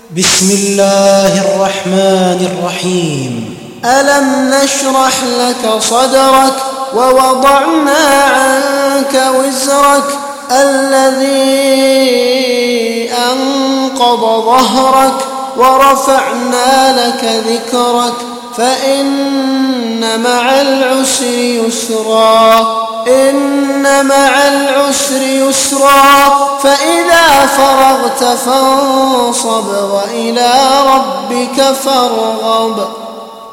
بسم الله الرحمن الرحيم. ألم نشرح لك صدرك ووضعنا عنك وزرك الذي أنقض ظهرك ورفعنا لك ذكرك فإن مع العسر يسرا فإذا فرغت فانصب وإلى ربك فارغب.